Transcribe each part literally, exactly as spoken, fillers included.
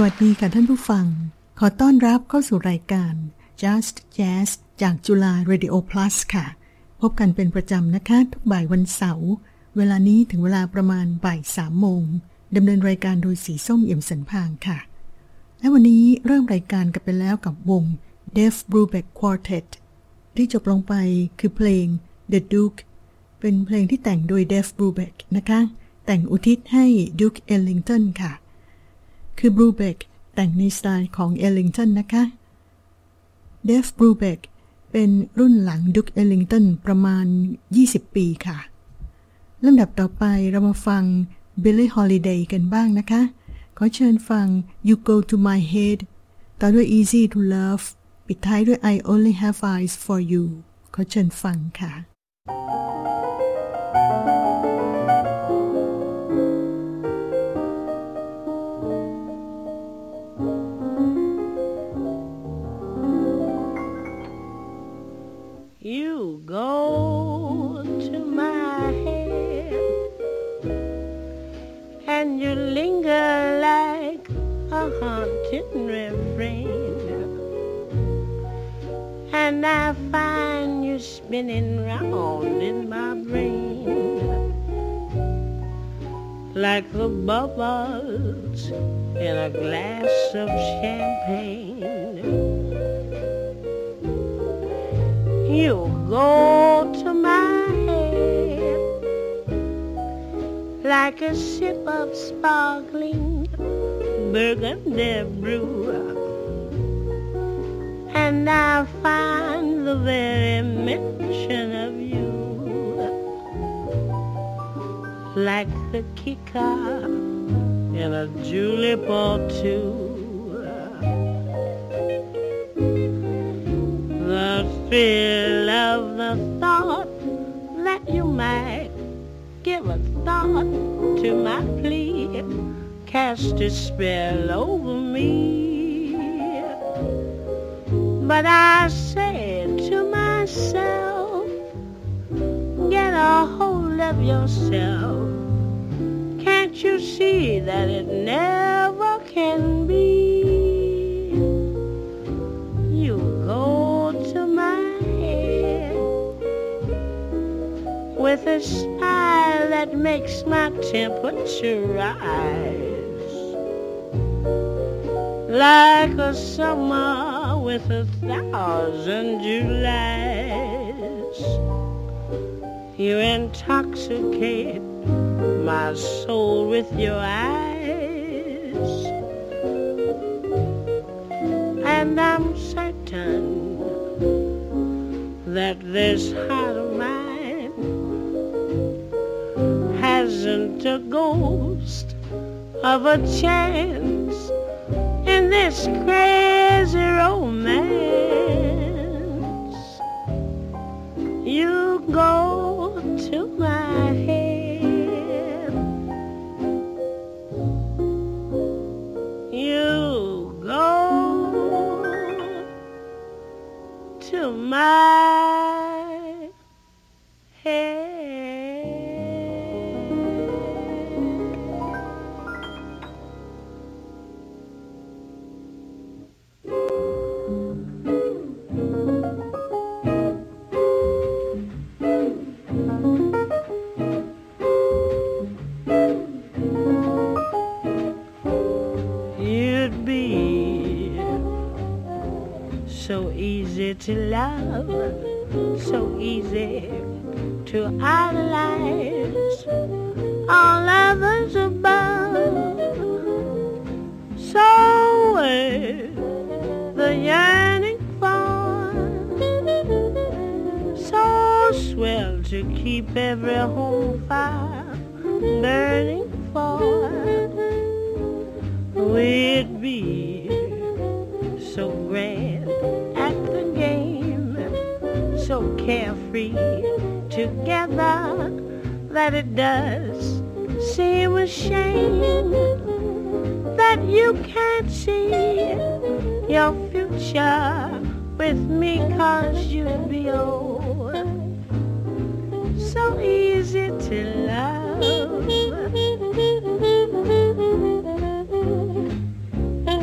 วัสดีค่ะท่านผู้ฟังขอต้อนรับเข้าสู่รายการ Just Jazz จากจุฬา Radio Plus ค่ะพบกันเป็นประจำนะคะทุกบ่ายวันเสาร์เวลานี้ถึงเวลาประมาณบ่ายสามโมงดำเนินรายการโดยสีส้มเอี่ยมสันพางค่ะและวันนี้เริ่มรายการกันไปแล้วกับวง Dave Brubeck Quartet ที่จบลงไปคือเพลง The Duke เป็นเพลงที่แต่งโดย Dave Brubeck นะคะแต่งอุทิศให้ Duke Ellington ค่ะคือ Brubeck แต่งในสไตล์ของ Ellington นะคะ Dave Brubeck เป็นรุ่นหลัง Duke Ellington ประมาณยี่สิบปีค่ะลำดับต่อไปเรามาฟัง Billie Holiday กันบ้างนะคะขอเชิญฟัง You Go to My Head ต่อด้วย Easy to Love ปิดท้ายด้วย I Only Have Eyes for You ขอเชิญฟังค่ะ You go to my head and you linger like a haunted refrain, and I find you spinning round in my brain like the bubbles in a glass of champagne. You go to my head like a sip of sparkling burgundy brew, and I find the very mention of you like the kicker in a julep or two. The thrill of the thought that you might give a thought to my plea cast a spell over me. But I said to myself, get a hold of yourself. Can't you see that it never can be? You go to my head with a smile that makes my temperature rise like a summer with a thousand Julys. You intoxicate my soul with your eyes, and I'm certain that this heart of mine hasn't a ghost of a chance in this crazy romance. You go to my head, you go to my head. You'd be so easy to love, so easy to idolize, all others above. So worth the yearning for, so swell to keep every home fire burning for. We'd be so grand at the game, so carefree together that it does seem a shame that you can't see your future with me, 'cause you'd be old, so easy to love.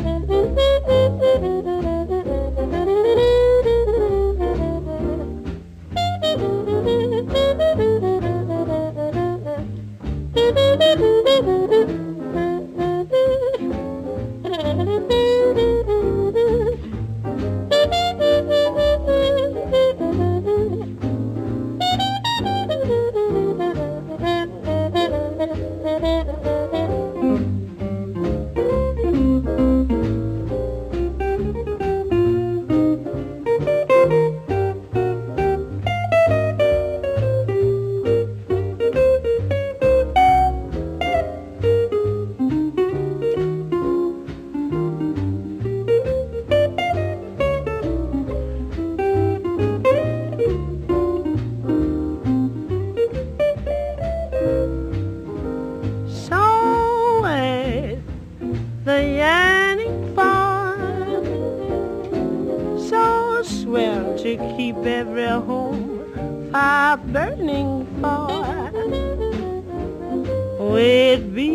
are burning for with me.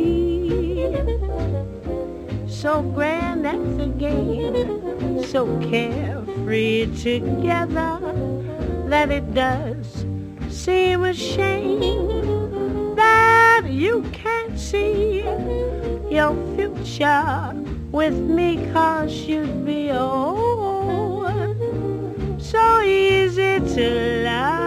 So grand that's the game, so carefree together, that it does seem a shame that you can't see your future with me, 'cause you'd be oh so easy to love.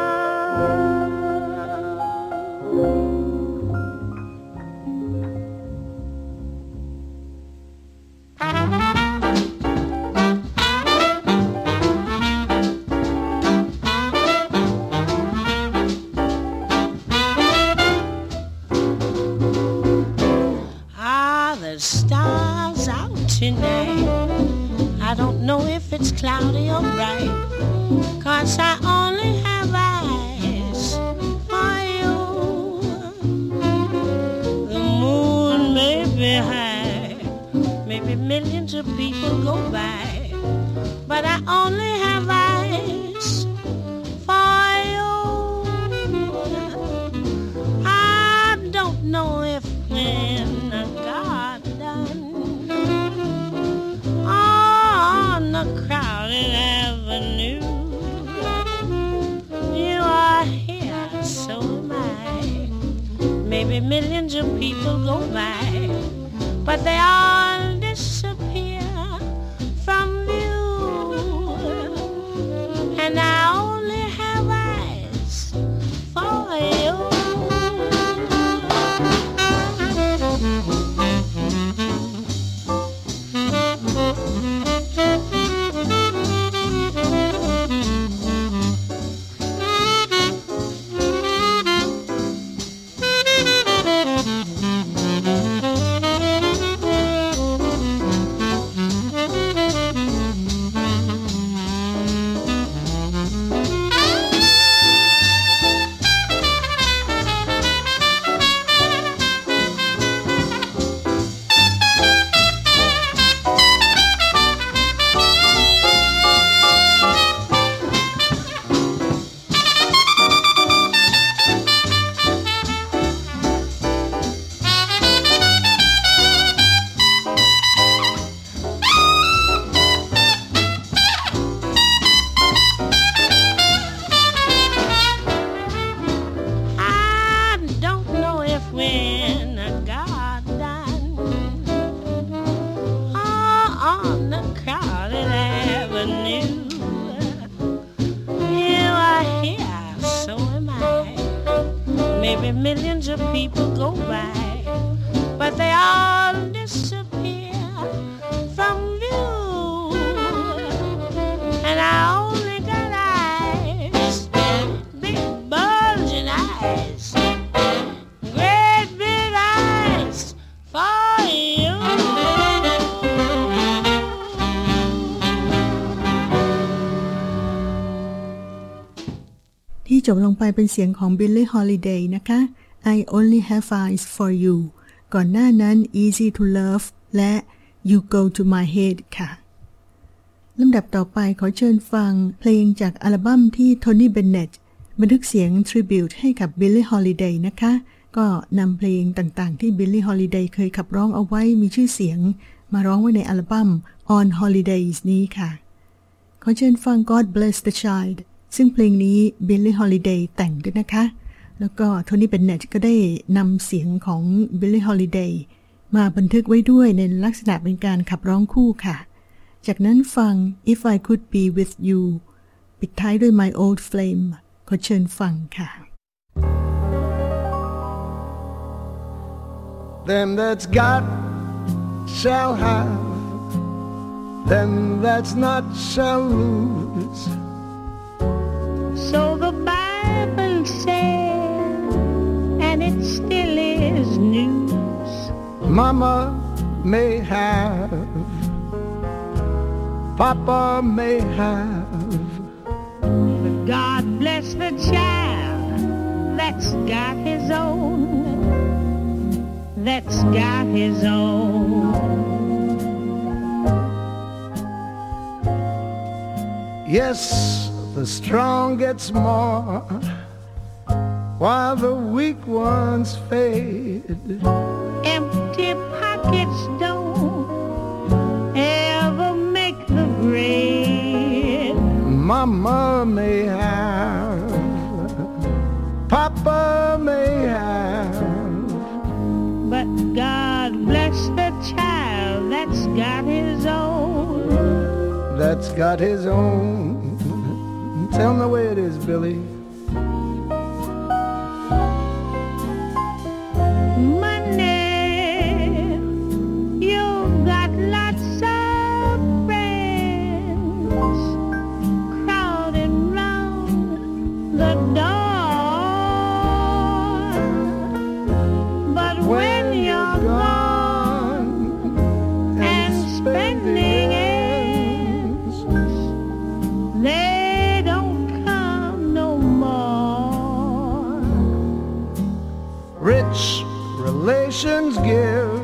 Tonight, I don't know if it's cloudy or bright, 'cause I only have eyes for you. The moon may be high, maybe millions of people go by, but I only have eyes for you. I don't know if when I got done a crowded avenue, you are here, so am I. Maybe millions of people go by, but they all disappear from view, and I only have eyes for you. Millions of people go by, but they all disappear from view, and I only got eyes, big bulging eyes, great big eyes for you. ที่จบลงไปเป็นเสียงของ Billie Holiday นะคะ I Only Have Eyes for You ก่อนหน้านั้น Easy to Love และ You Go to My Head ค่ะลำดับต่อไปขอเชิญฟังเพลงจากอัลบั้มที่ Tony Bennett บันทึกเสียง Tribute ให้กับ Billie Holiday นะคะก็นำเพลงต่างๆที่ Billie Holiday เคยขับร้องเอาไว้มีชื่อเสียงมาร้องไว้ในอัลบั้ม On Holidays นี้ค่ะขอเชิญฟัง God Bless the Child ซึ่งเพลงนี้ Billie Holiday แต่งด้วยนะคะแล้วก็โทนี่เบนเนตก็ได้นำเสียงของ Billie Holiday มาบันทึกไว้ด้วยในลักษณะเป็นการขับร้องคู่ค่ะจากนั้นฟัง If I Could Be With You ปิดท้ายด้วย My Old Flame ขอเชิญฟังค่ะ Them that's got shall have, them that's not shall lose. So the Bible says, and it still is news. Mama may have, Papa may have, but God bless the child that's got his own, that's got his own. Yes, the strong gets more, while the weak ones fade. Empty pockets don't ever make the grade. Mama may have, Papa may have, but God bless the child that's got his own. That's got his own. Tell me the way it is, Billy. Relations give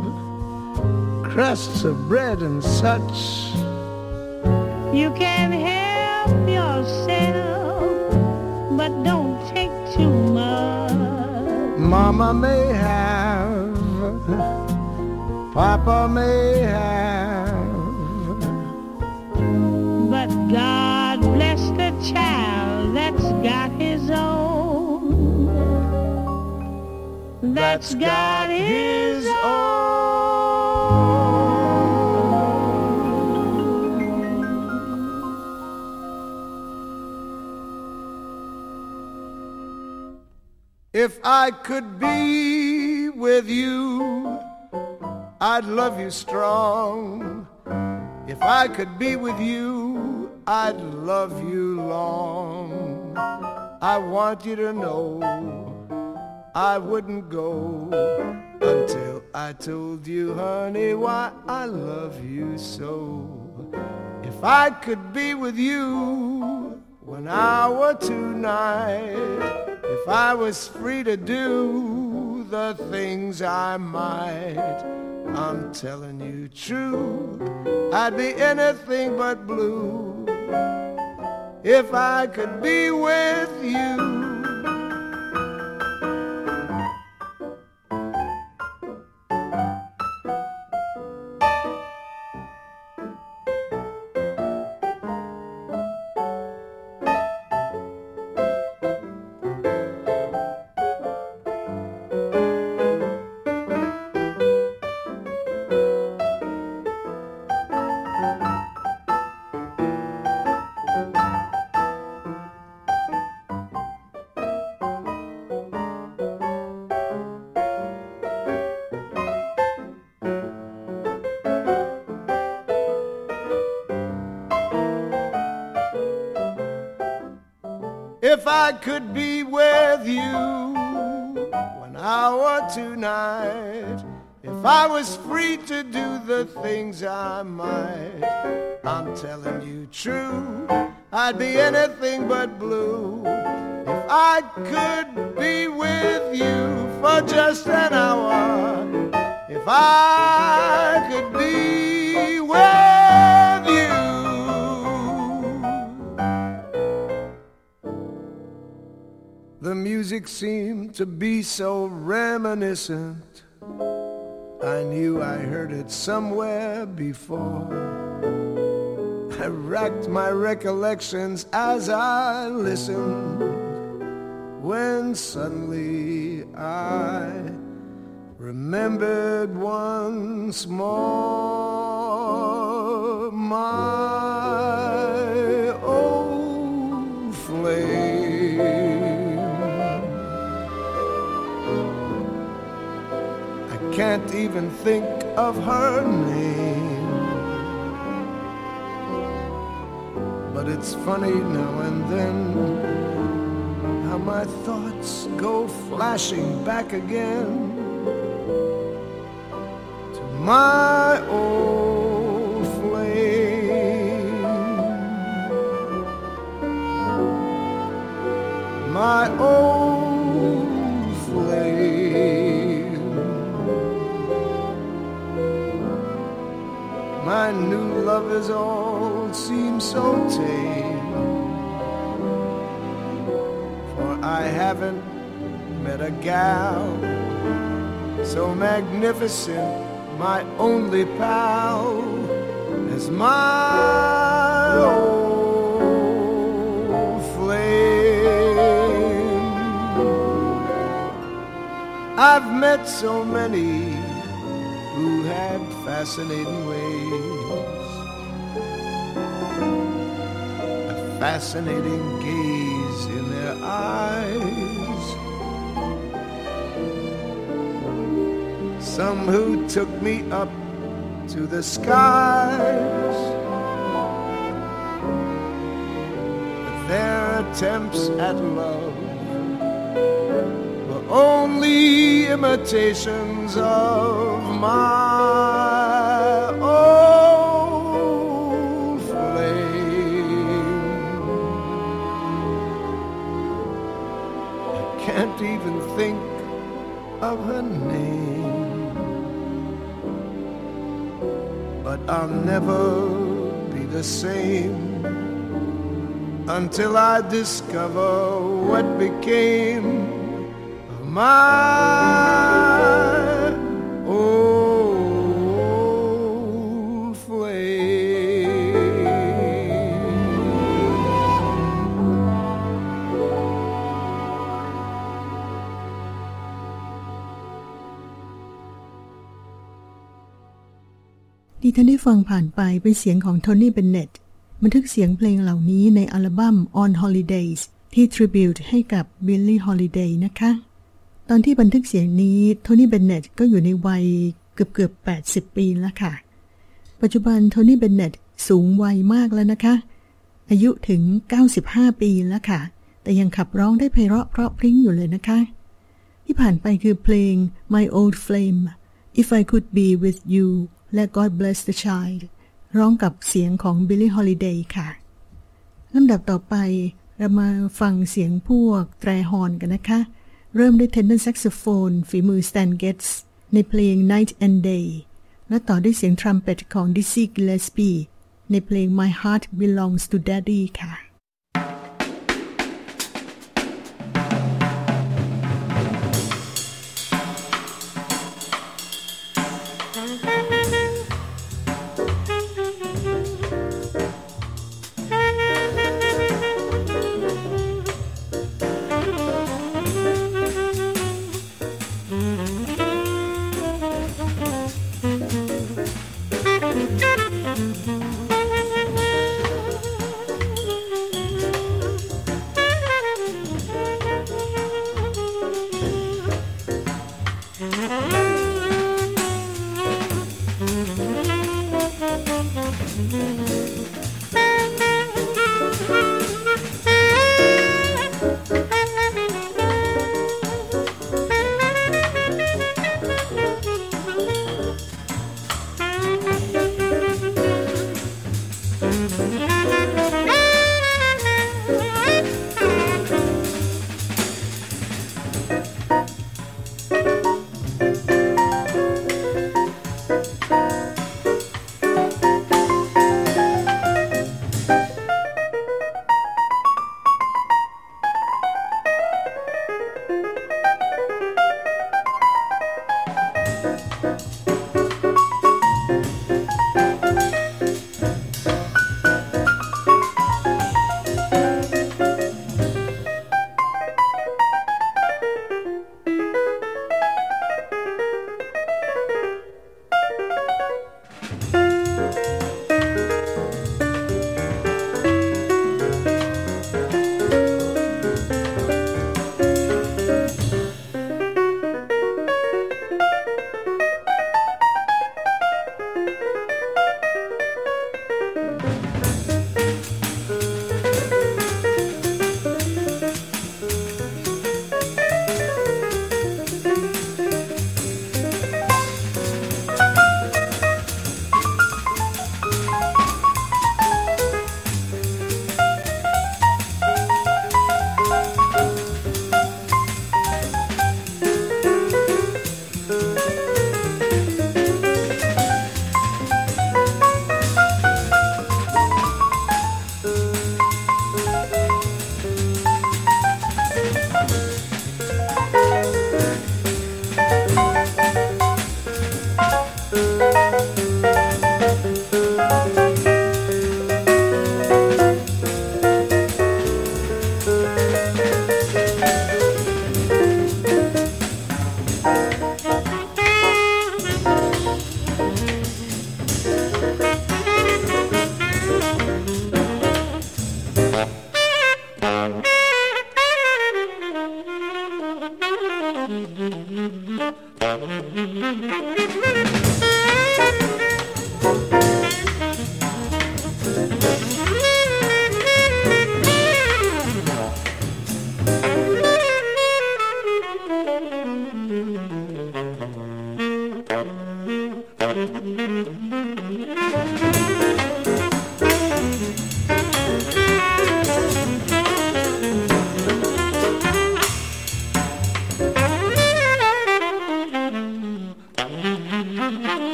crusts of bread and such. You can help yourself, but don't take too much. Mama may have, Papa may have, but God bless the child that's got his own. That's got his own. If I could be with you, I'd love you strong. If I could be with you, I'd love you long. I want you to know I wouldn't go until I told you, honey, why I love you so. If I could be with you one hour tonight, if I was free to do the things I might, I'm telling you true, I'd be anything but blue if I could be with you. If I could be with you one hour tonight, if I was free to do the things I might, I'm telling you true, I'd be anything but blue if I could be with you for just an hour. If I could be with you. The music seemed to be so reminiscent, I knew I heard it somewhere before. I racked my recollections as I listened, when suddenly I remembered once more my old flame. Can't even think of her name, but it's funny now and then how my thoughts go flashing back again to my old flame, my old flame. My new lovers all seem so tame. I haven't met a gal so magnificent, my only pal is my old flame. I've met so many who had fascinating ways, a fascinating gaze in their eyes. Some who took me up to the skies, but their attempts at love were only imitations of my old flame. I can't even think of her name, but I'll never be the same until I discover what became of my old flame. ที่ท่านได้ฟังผ่านไปเป็นเสียงของโทนี่เบนเน็ตบันทึกเสียงเพลงเหล่านี้ในอัลบั้ม On Holidays ที่ tribute ให้กับ Billie Holiday นะคะตอนที่บันทึกเสียงนี้โทนี่เบนเน็ตก็อยู่ในวัยเกือบๆแปดสิบปีแล้วค่ะปัจจุบันโทนี่เบนเน็ตสูงวัยมากแล้วนะคะอายุถึงเก้าสิบห้าปีแล้วค่ะแต่ยังขับร้องได้ไพเราะเพราะพริ้งอยู่เลยนะคะที่ผ่านไปคือเพลง My Old Flame If I Could Be With You และ God Bless the Child ร้องกับเสียงของ Billie Holiday ค่ะลำดับต่อไปเรามาฟังเสียงพวกแตรฮอร์นกันนะคะเริ่มด้วย Tenor Saxophone ฝีมือ Stan Getz ในเพลง Night and Day และต่อด้วยเสียงทรัมเป็ตของ Dizzy Gillespie ในเพลง My Heart Belongs to Daddy ค่ะ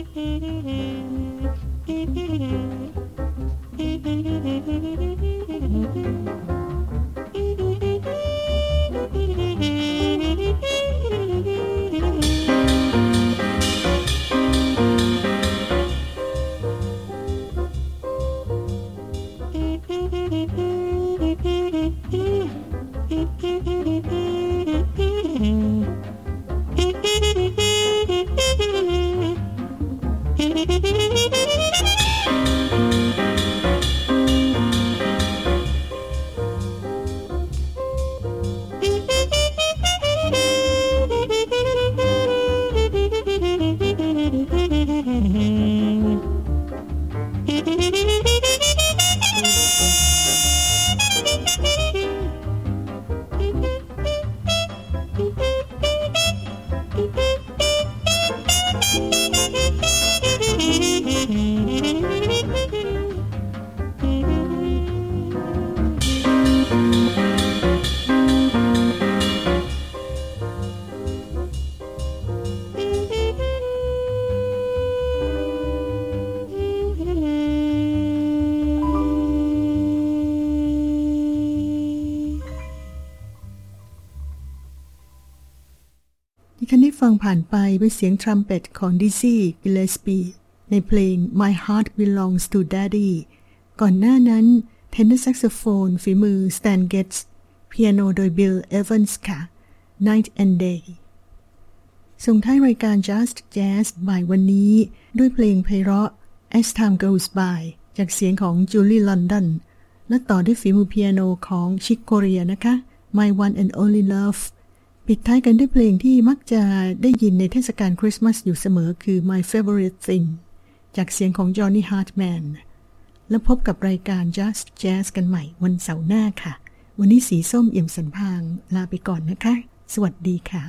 คันที่ฟังผ่านไปเป็นเสียงทรัมเป็ตของดิซี่กิลเลสปีในเพลง My Heart Belongs to Daddy ก่อนหน้านั้นเทนเนอร์แซกโซโฟนฝีมือสแตนเกตส์เปียโนโดยบิลเอเวนส์ค่ะ Night and Day ส่งท้ายรายการ Just Jazz บ่ายวันนี้ด้วยเพลงไพเราะ As Time Goes By จากเสียงของจูลี่ลอนดอนและต่อด้วยฝีมือเปียโนของชิคโคเรียนะคะ My One and Only Loveปิดท้ายกันด้วยเพลงที่มักจะได้ยินในเทศกาลคริสต์มาสอยู่เสมอคือ My Favorite Thing จากเสียงของ Johnny Hartman แล้วพบกับรายการ Just Jazz กันใหม่วันเสาร์หน้าค่ะวันนี้สีส้มเอี่ยมสันพางลาไปก่อนนะคะสวัสดีค่ะ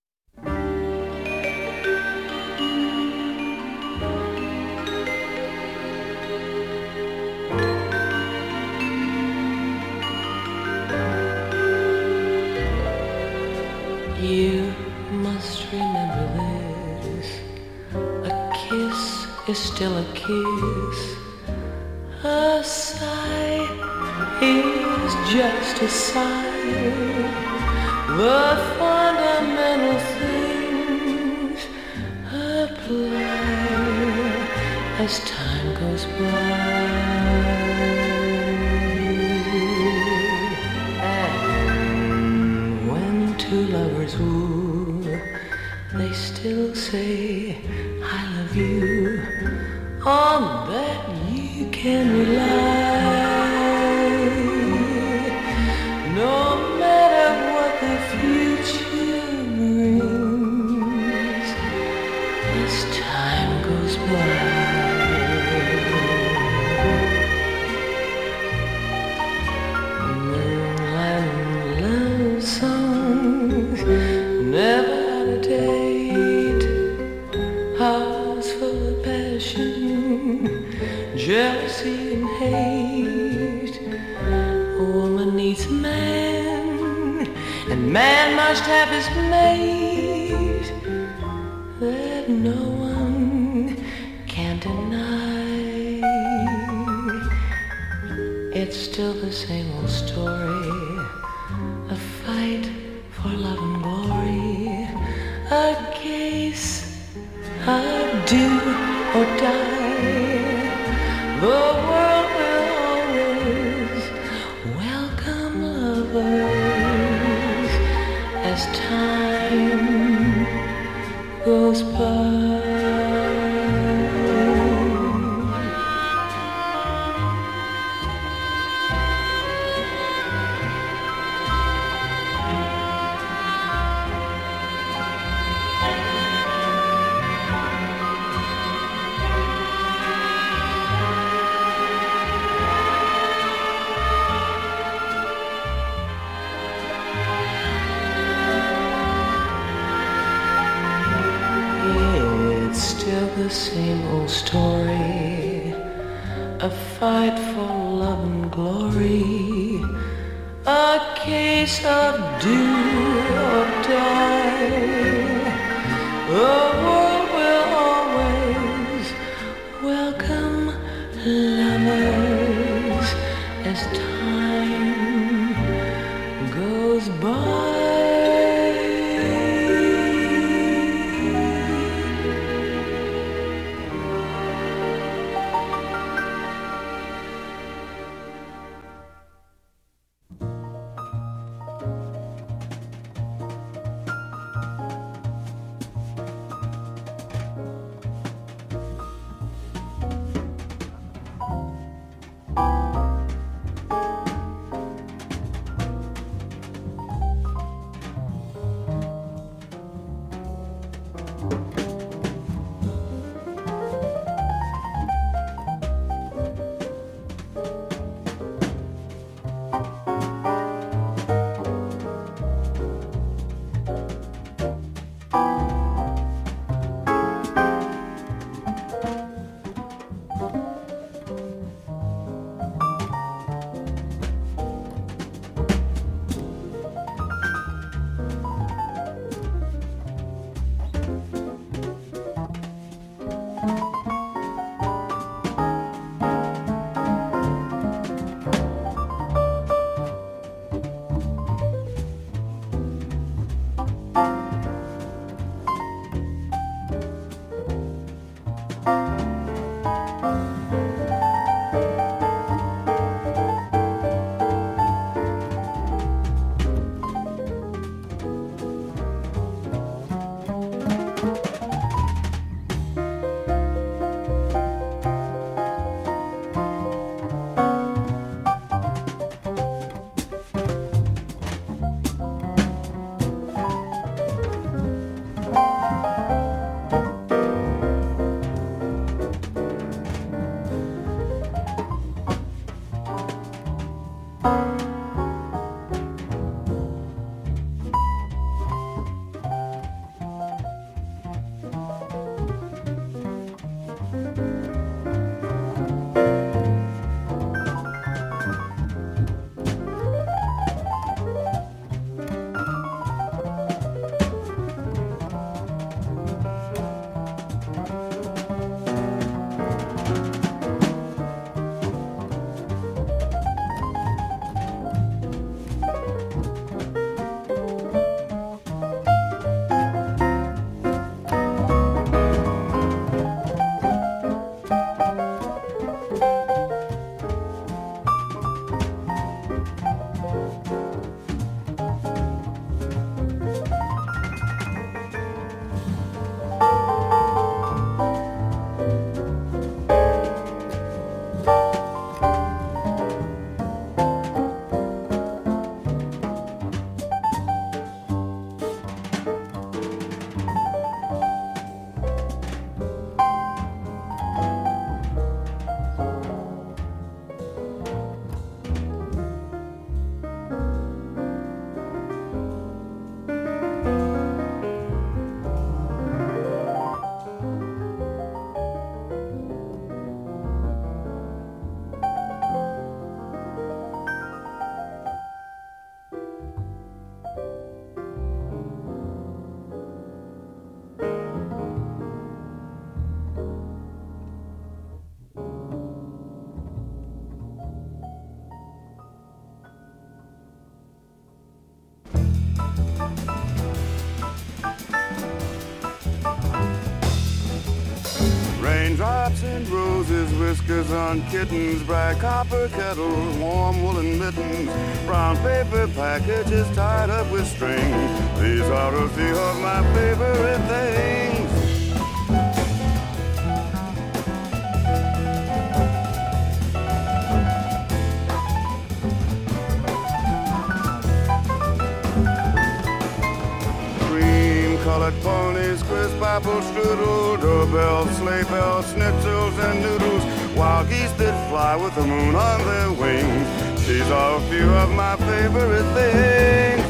You must remember this. A kiss is still a kiss. A sigh is just a sigh. The fundamental things apply as time goes by. Two lovers woo, they still say I love you. On that you can rely. No matter what the future brings, as time goes by. Never had a date, hearts full of passion, jealousy and hate. A woman needs a man, and man must have his mate. That no one can deny. It's still the same old story, a fight for love and glory, a case of do or die. The world will always welcome lovers as time goes by. The same old story, a fight for love and glory, a case of do or die. The world will always Raindrops and roses, whiskers on kittens, bright copper kettles, warm woolen mittens, brown paper packages tied up with string. These are a few of my favorite things. Colored ponies, crisp apple strudel, doorbells, sleigh bells, schnitzels and noodles, wild geese that fly with the moon on their wings. These are a few of my favorite things.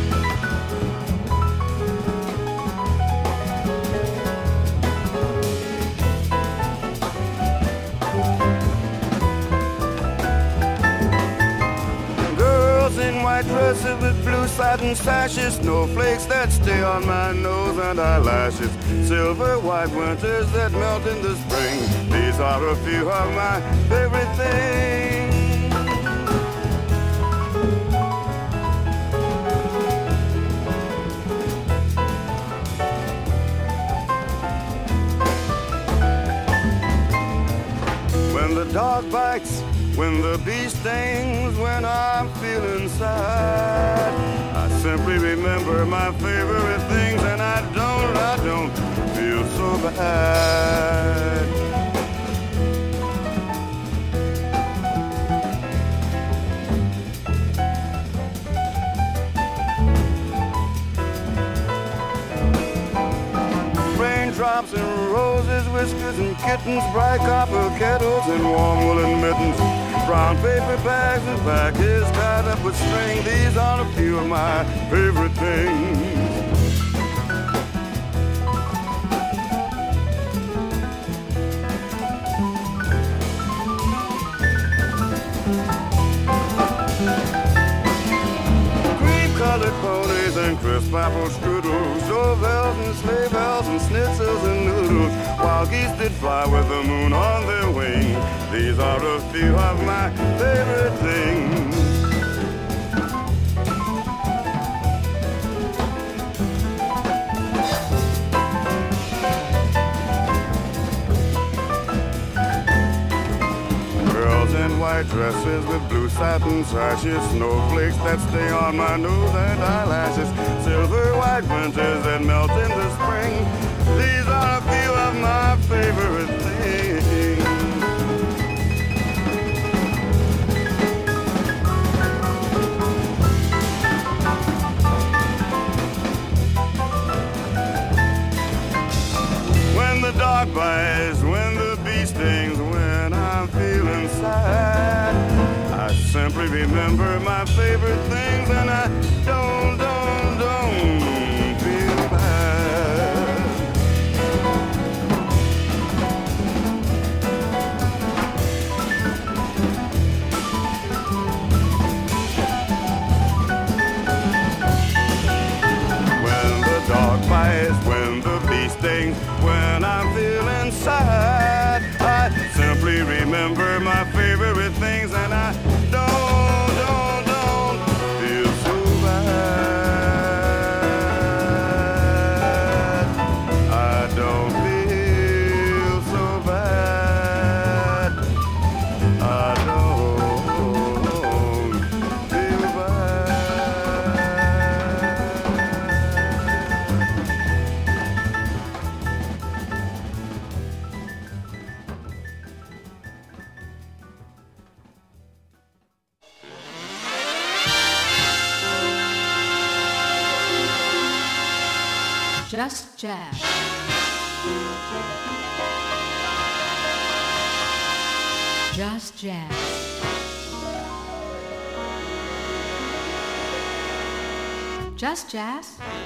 White dresses with blue satin sashes, snowflakes that stay on my nose and eyelashes, silver white winters that melt in the spring. These are a few of my favorite things. When the dog bites, when the bee stings, when I'm feeling sad, I simply remember my favorite things, and I don't, I don't feel so bad. Raindrops and roses, whiskers and kittens, bright copper kettles and warm woolen mittens, brown paper bags and packages tied up with string. These are a few of my favorite things. Cream-colored ponies and crisp apple strudels, doorbells and sleigh bells and schnitzels and noodles, wild geese that fly with the moon on their wing. These are a few of my favorite things. Girls in white dresses with blue satin sashes, snowflakes that stay on my nose and eyelashes, silver white winters that melt in the spring. These are a few of my favorite things. When the dog bites, when the bee stings, when I'm feeling sad, I simply remember my favorite things and I don't, don't, don't feel bad. When the dog bites, when the bee stings, when I'm feeling sad, I simply remember my favorite things and I don't, don't, don't feel so bad. I don't feel so bad. I don't feel bad. Just Jazz Just Jazz Just Jazz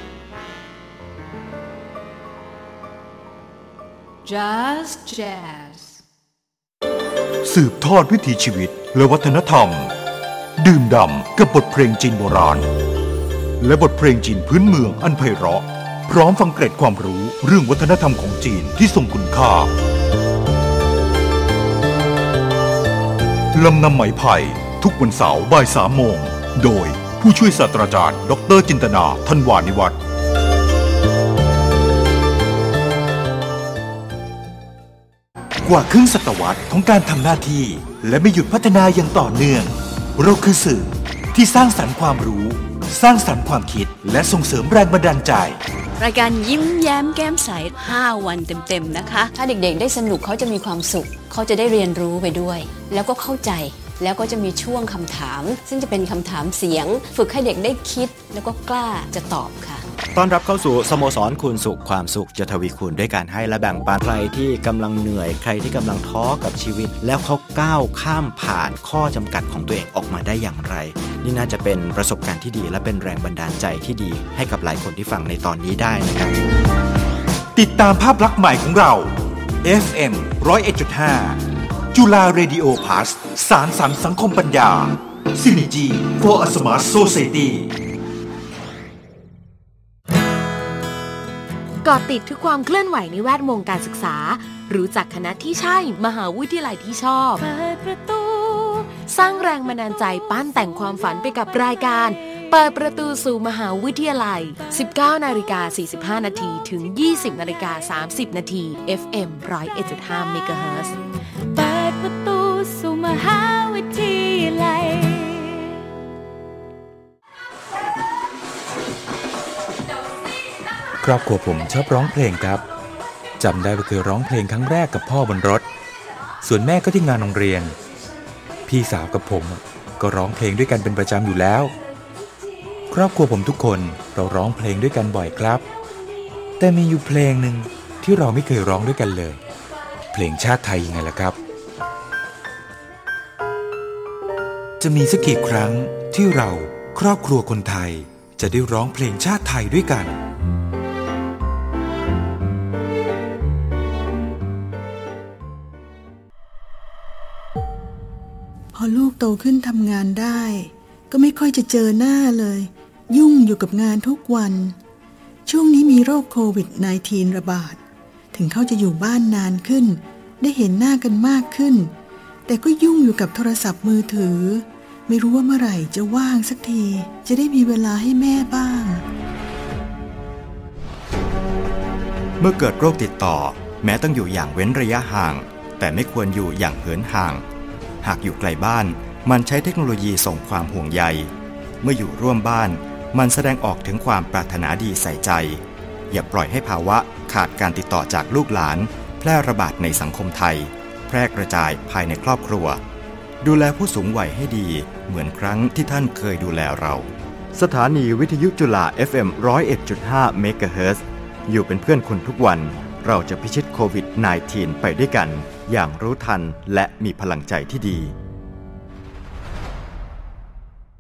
Just Jazz สืบทอดวิถีชีวิตและวัฒนธรรมดื่มด่ำกับบทเพลงจีนโบราณและบทเพลงจีนพื้นเมืองอันไพเราะพร้อมฟังเกร็ดความรู้เรื่องวัฒนธรรมของจีนที่ทรงคุณค่าลำนำไหมไผ่ทุกวันเสาร์บ่ายสามโมงโดยผู้ช่วยศาสตราจารย์ดร.จินตนาธันวานิวัฒน์กว่าครึ่งศตวรรษของการทำหน้าที่และไม่หยุดพัฒนาอย่างต่อเนื่องเราคือสื่อที่สร้างสรรค์ความรู้สร้างสรรค์ความคิดและส่งเสริมแรงบันดาลใจรายการยิ้มแย้มแก้มใสห้าวันเต็มๆนะคะถ้าเด็กๆได้สนุกเขาจะมีความสุขเขาจะได้เรียนรู้ไปด้วยแล้วก็เข้าใจแล้วก็จะมีช่วงคำถามซึ่งจะเป็นคำถามเสียงฝึกให้เด็กได้คิดแล้วก็กล้าจะตอบค่ะต้อนรับเข้าสู่สโมสรคูณสุขความสุขจะทวีคูณด้วยการให้และแบ่งปันใครที่กำลังเหนื่อยใครที่กำลังท้อกับชีวิตแล้วเขาก้าวข้ามผ่านข้อจำกัดของตัวเองออกมาได้อย่างไรนี่น่าจะเป็นประสบการณ์ที่ดีและเป็นแรงบันดาลใจที่ดีให้กับหลายคนที่ฟังในตอนนี้ได้นะครับติดตามภาพลักษณ์ใหม่ของเรา เอฟ เอ็ม หนึ่งศูนย์เอ็ดจุดห้า จุฬาเรดิโอพลัสสารสรรค์สังคมปัญญา Synergy for a Smart Society เกาะติดทุกความเคลื่อนไหวในแวดวงการศึกษารู้จักคณะที่ใช่มหาวิทยาลัยที่ชอบเปิดประตูสร้างแรงบันดาลใจปั้นแต่งความฝันไปกับรายการเปิดประตูสู่มหาวิทยาลัย สิบเก้านาฬิกาสี่สิบห้านาทีถึง ยี่สิบนาฬิกาสามสิบนาที เอฟ เอ็ม หนึ่งศูนย์เอ็ดจุดห้า เมกะเฮิรตซ์เปิดประตูสู่มหาวิทยาลัยครอบครัวผมชอบร้องเพลงครับจำได้ว่าเคยร้องเพลงครั้งแรกกับพ่อบนรถส่วนแม่ก็ที่งานโรงเรียนพี่สาวกับผมก็ร้องเพลงด้วยกันเป็นประจำอยู่แล้วครอบครัวผมทุกคนเราร้องเพลงด้วยกันบ่อยครับแต่มีอยู่เพลงหนึ่งที่เราไม่เคยร้องด้วยกันเลยเพลงชาติไทยยังไงล่ะครับจะมีสักกี่ครั้งที่เราครอบครัวคนไทยจะได้ร้องเพลงชาติไทยด้วยกันพอลูกโตขึ้นทำงานได้ก็ไม่ค่อยจะเจอหน้าเลยยุ่งอยู่กับงานทุกวันช่วงนี้มีโรคโควิด สิบเก้า ระบาดถึงเขาจะอยู่บ้านนานขึ้นได้เห็นหน้ากันมากขึ้นแต่ก็ยุ่งอยู่กับโทรศัพท์มือถือไม่รู้ว่าเมื่อไหร่จะว่างสักทีจะได้มีเวลาให้แม่บ้างเมื่อเกิดโรคติดต่อแม้ต้องอยู่อย่างเว้นระยะห่างแต่ไม่ควรอยู่อย่างเหินห่างหากอยู่ไกลบ้านมันใช้เทคโนโลยีส่งความห่วงใยเมื่ออยู่ร่วมบ้านมันแสดงออกถึงความปรารถนาดีใส่ใจอย่าปล่อยให้ภาวะขาดการติดต่อจากลูกหลานแพร่ระบาดในสังคมไทยแพร่กระจายภายในครอบครัวดูแลผู้สูงวัยให้ดีเหมือนครั้งที่ท่านเคยดูแลเราสถานีวิทยุจุฬา เอฟ เอ็ม หนึ่งศูนย์เอ็ดจุดห้า เมกะเฮิรตซ์อยู่เป็นเพื่อนคุณทุกวันเราจะพิชิตโควิด สิบเก้า ไปด้วยกันอย่างรู้ทันและมีพลังใจที่ดี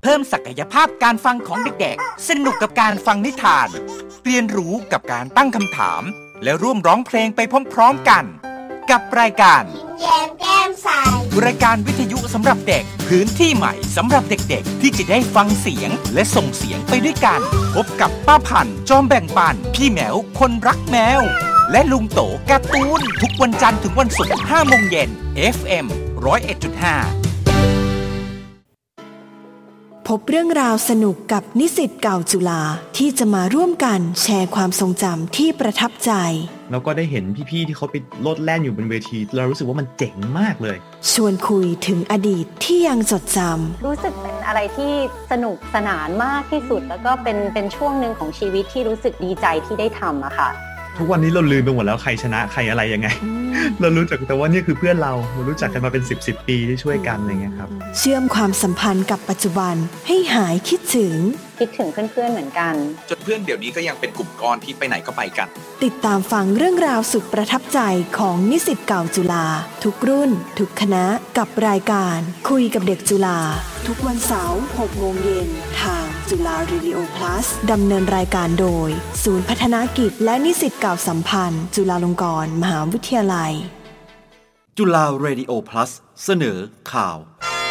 เพิ่มศักยภาพการฟังของเด็กๆสนุกกับการฟังนิทานเรียนรู้กับการตั้งคำถามและร่วมร้องเพลงไปพร้อมๆกันกับรายการแย้มแก้มใสรายการวิทยุสำหรับเด็กพื้นที่ใหม่สำหรับเด็กๆที่จะได้ฟังเสียงและส่งเสียงไปด้วยกันพบกับป้าพันธุ์จอมแบ่งปันพี่แมวคนรักแมวและลุงโตการ์ตูนทุกวันจันทร์ถึงวันศุกร์ห้าโมงเย็น เอฟ เอ็ม หนึ่งศูนย์เอ็ดจุดห้าพบเรื่องราวสนุกกับนิสิตเก่าจุฬาที่จะมาร่วมกันแชร์ความทรงจำที่ประทับใจแล้วก็ได้เห็นพี่ๆที่เขาไปโลดแล่นอยู่บนเวทีเรารู้สึกว่ามันเจ๋งมากเลยชวนคุยถึงอดีตที่ยังจดจำรู้สึกเป็นอะไรที่สนุกสนานมากที่สุดแล้วก็เป็นเป็นช่วงหนึ่งของชีวิตที่รู้สึกดีใจที่ได้ทำอะค่ะทุกวันนี้เราลืมไปหมดแล้วใครชนะใครอะไรยังไง เรารู้จักแต่ว่านี่คือเพื่อนเราเรารู้จักกันมาเป็นสิบสิบปีที่ช่วยกันอะไรเงี้ยครับเชื่อมความสัมพันธ์กับปัจจุบันให้หายคิดถึงคิดถึงเพื่อนๆเหมือนกันจนเพื่อนเดี๋ยวนี้ก็ยังเป็นกลุ่มก้อนที่ไปไหนก็ไปกันติดตามฟังเรื่องราวสุดประทับใจของนิสิตเก่าจุฬาทุกรุ่นทุกคณะกับรายการคุยกับเด็กจุฬาทุกวันเสาร์หกโมงเย็นทางจุฬา Radio Plus ดำเนินรายการโดยศูนย์พัฒนากิจและนิสิตเก่าสัมพันธ์จุฬาลงกรณ์มหาวิทยาลัยจุฬา Radio Plus เสนอข่าว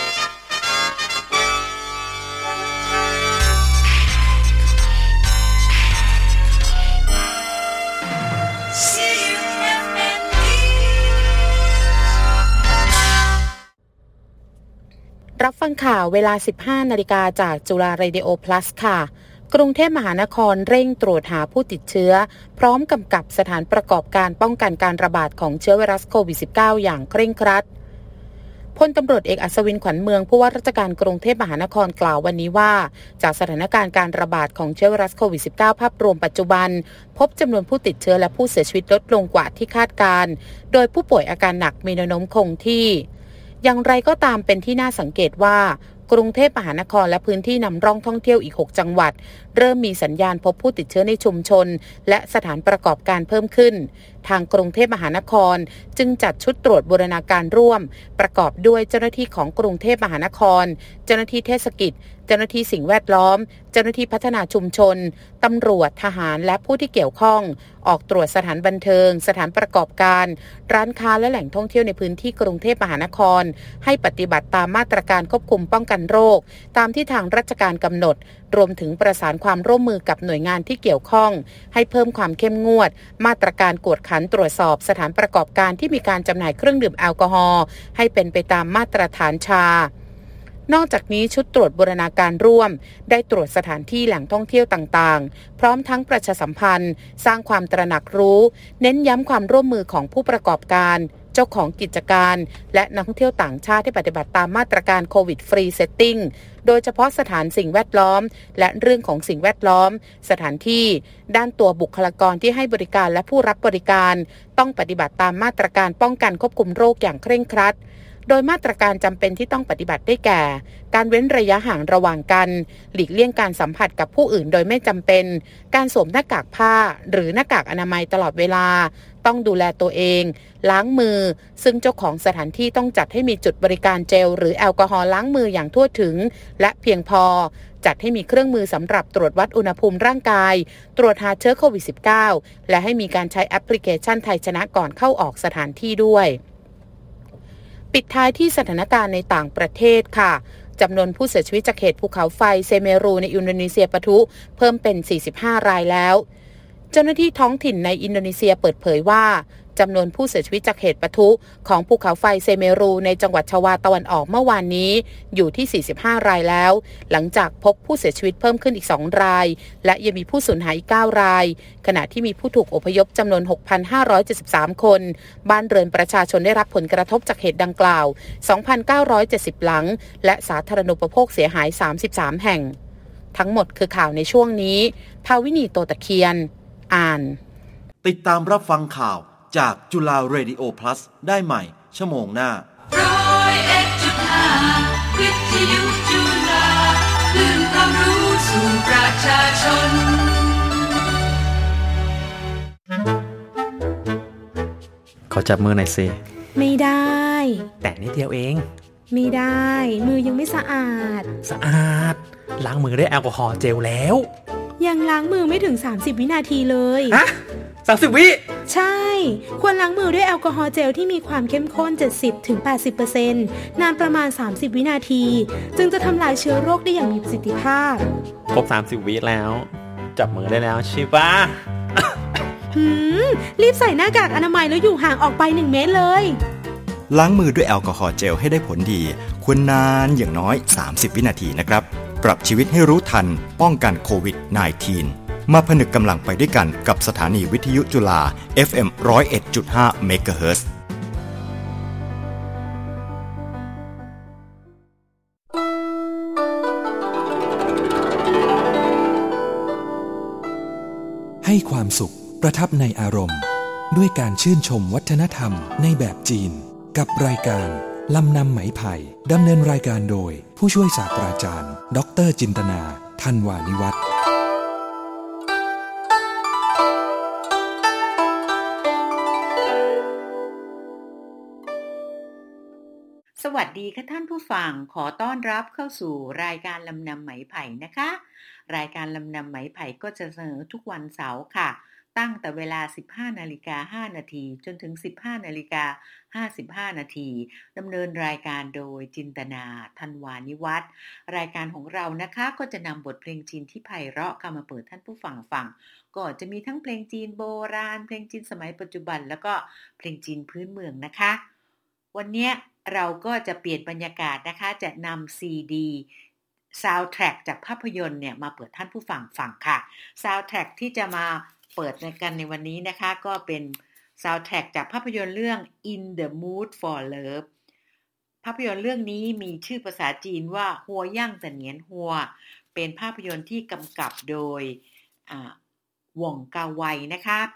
รับฟังข่าวเวลา สิบห้านาฬิกาจากจุฬา Radio Plus ค่ะกรุงเทพมหานครเร่งตรวจหาผู้ติดเชื้อพร้อมกำกับสถานประกอบการป้องกันการระบาดของเชื้อไวรัสโควิด สิบเก้า อย่างเคร่งครัดพลตำรวจเอกอัศวินขวัญเมืองผู้ว่าราชการกรุงเทพมหานครกล่าววันนี้ว่าจากสถานการณ์การระบาดของเชื้อไวรัสโควิด สิบเก้า ภาพรวมปัจจุบันพบจำนวนผู้ติดเชื้อและผู้เสียชีวิตลดลงกว่าที่คาดการโดยผู้ป่วยอาการหนักมีแนวโน้มคงที่อย่างไรก็ตามเป็นที่น่าสังเกตว่ากรุงเทพมหานครและพื้นที่นำร่องท่องเที่ยวอีกหกจังหวัดเริ่มมีสัญญาณพบผู้ติดเชื้อในชุมชนและสถานประกอบการเพิ่มขึ้นทางกรุงเทพมหานครจึงจัดชุดตรวจบูรณาการร่วมประกอบด้วยเจ้าหน้าที่ของกรุงเทพมหานครเจ้าหน้าที่เทศกิจเจ้าหน้าที่สิ่งแวดล้อมเจ้าหน้าที่พัฒนาชุมชนตำรวจทหารและผู้ที่เกี่ยวข้องออกตรวจสถานบันเทิงสถานประกอบการร้านค้าและแหล่งท่องเที่ยวในพื้นที่กรุงเทพมหานครให้ปฏิบัติตามมาตรการควบคุมป้องกันโรคตามที่ทางราชการกำหนดรวมถึงประสานความร่วมมือกับหน่วยงานที่เกี่ยวข้องให้เพิ่มความเข้มงวดมาตรการกวดขันตรวจสอบสถานประกอบการที่มีการจำหน่ายเครื่องดื่มแอลกอฮอล์ให้เป็นไปตามมาตรฐานชานอกจากนี้ชุดตรวจบูรณาการร่วมได้ตรวจสถานที่แหล่งท่องเที่ยวต่างๆพร้อมทั้งประชาสัมพันธ์สร้างความตระหนักรู้เน้นย้ำความร่วมมือของผู้ประกอบการเจ้าของกิจการและนักท่องเที่ยวต่างชาติที่ปฏิบัติตามมาตรการโควิดฟรีเซตติ้งโดยเฉพาะสถานสิ่งแวดล้อมและเรื่องของสิ่งแวดล้อมสถานที่ด้านตัวบุคลากรที่ให้บริการและผู้รับบริการต้องปฏิบัติตามมาตรการป้องกันควบคุมโรคอย่างเคร่งครัดโดยมาตรการจำเป็นที่ต้องปฏิบัติได้แก่การเว้นระยะห่างระหว่างกันหลีกเลี่ยงการสัมผัสกับผู้อื่นโดยไม่จำเป็นการสวมหน้ากากผ้าหรือหน้ากากอนามัยตลอดเวลาต้องดูแลตัวเองล้างมือซึ่งเจ้าของสถานที่ต้องจัดให้มีจุดบริการเจลหรือแอลกอฮอล์ล้างมืออย่างทั่วถึงและเพียงพอจัดให้มีเครื่องมือสำหรับตรวจวัดอุณหภูมิร่างกายตรวจหาเชื้อโควิด สิบเก้า และให้มีการใช้แอปพลิเคชันไทยชนะก่อนเข้าออกสถานที่ด้วยปิดท้ายที่สถานการณ์ในต่างประเทศค่ะจำนวนผู้เสียชีวิตจากเหตุภูเขาไฟเซเมรูในอินโดนีเซียปะทุเพิ่มเป็นสี่สิบห้ารายแล้วเจ้าหน้าที่ท้องถิ่นในอินโดนีเซียเปิดเผยว่าจำนวนผู้เสียชีวิตจากเหตุปะทุของภูเขาไฟเซเมรูในจังหวัดชวาตะวันออกเมื่อวานนี้อยู่ที่สี่สิบห้ารายแล้วหลังจากพบผู้เสียชีวิตเพิ่มขึ้นอีกสองรายและยังมีผู้สูญหายอีกเก้ารายขณะที่มีผู้ถูกอพยพจำนวน หกพันห้าร้อยเจ็ดสิบสาม คนบ้านเรือนประชาชนได้รับผลกระทบจากเหตุดังกล่าว สองพันเก้าร้อยเจ็ดสิบ หลังและสาธารณูปโภคเสียหายสามสิบสามแห่งทั้งหมดคือข่าวในช่วงนี้ภาวินีโตตะเคียนอ่านติดตามรับฟังข่าวจากจุฬา Radio Plus ได้ใหม่ชั่วโมงหน้าร้อยเอ็ดจุดห้าวิทยุจุฬาคลื่นความรู้สู่ประชาชนขอจับมือหน่อยสิไม่ได้แต่นิดเดียวเองไม่ได้มือยังไม่สะอาดสะอาดล้างมือด้วยแอลกอฮอล์เจลแล้วยังล้างมือไม่ถึงสามสิบวินาทีเลยฮะสามสิบวิใช่ควรล้างมือด้วยแอลกอฮอล์เจลที่มีความเข้มข้น เจ็ดสิบถึงแปดสิบเปอร์เซ็นต์ นานประมาณสามสิบวินาทีจึงจะทำลายเชื้อโรคได้อย่างมีประสิทธิภาพครบสามสิบวิแล้วจับมือได้แล้วใช่ปะหืมรีบใส่หน้ากากอนามัยแล้วอยู่ห่างออกไปหนึ่งเมตรเลยล้างมือด้วยแอลกอฮอล์เจลให้ได้ผลดีควรนานอย่างน้อยสามสิบวินาทีนะครับปรับชีวิตให้รู้ทันป้องกันโควิด สิบเก้า มาผนึกกำลังไปด้วยกันกับสถานีวิทยุจุฬา เอฟ เอ็ม หนึ่งศูนย์เอ็ดจุดห้า เมกะเฮิรตซ์ให้ความสุขประทับในอารมณ์ด้วยการชื่นชมวัฒนธรรมในแบบจีนกับรายการลำนำไหมไผ่ดำเนินรายการโดยผู้ช่วยศาสตราจารย์ดร.จินตนาธันวานิวัฒน์สวัสดีค่ะท่านผู้ฟังขอต้อนรับเข้าสู่รายการลำนำไหมไผ่นะคะรายการลำนำไหมไผ่ก็จะเสนอทุกวันเสาร์ค่ะตั้งแต่เวลา สิบห้านาฬิกาห้านาทีจนถึง สิบห้านาฬิกาห้าสิบห้านาทีดำเนินรายการโดยจินตนาธันวานิวัฒน์รายการของเรานะคะก็จะนำบทเพลงจีนที่ไพเราะมาเปิดท่านผู้ฟังฟังก็จะมีทั้งเพลงจีนโบราณเพลงจีนสมัยปัจจุบันแล้วก็เพลงจีนพื้นเมืองนะคะวันนี้เราก็จะเปลี่ยนบรรยากาศนะคะจะนำซีดีซาวด์แทร็กจากภาพยนตร์เนี่ยมาเปิดท่านผู้ฟังฟังค่ะซาวด์แทร็กที่จะมาเปิดกันในวันนี้นะคะก็เป็นซาวด์แทร็กจากภาพยนตร์เรื่อง In the Mood for Love ภาพยนตร์เรื่องนี้มีชื่อภาษาจีนว่าหัวย่างแต่เหนียนหัวเป็นภาพยนตร์ที่กำกับโดยอ่าหว่องกาไวนะคะ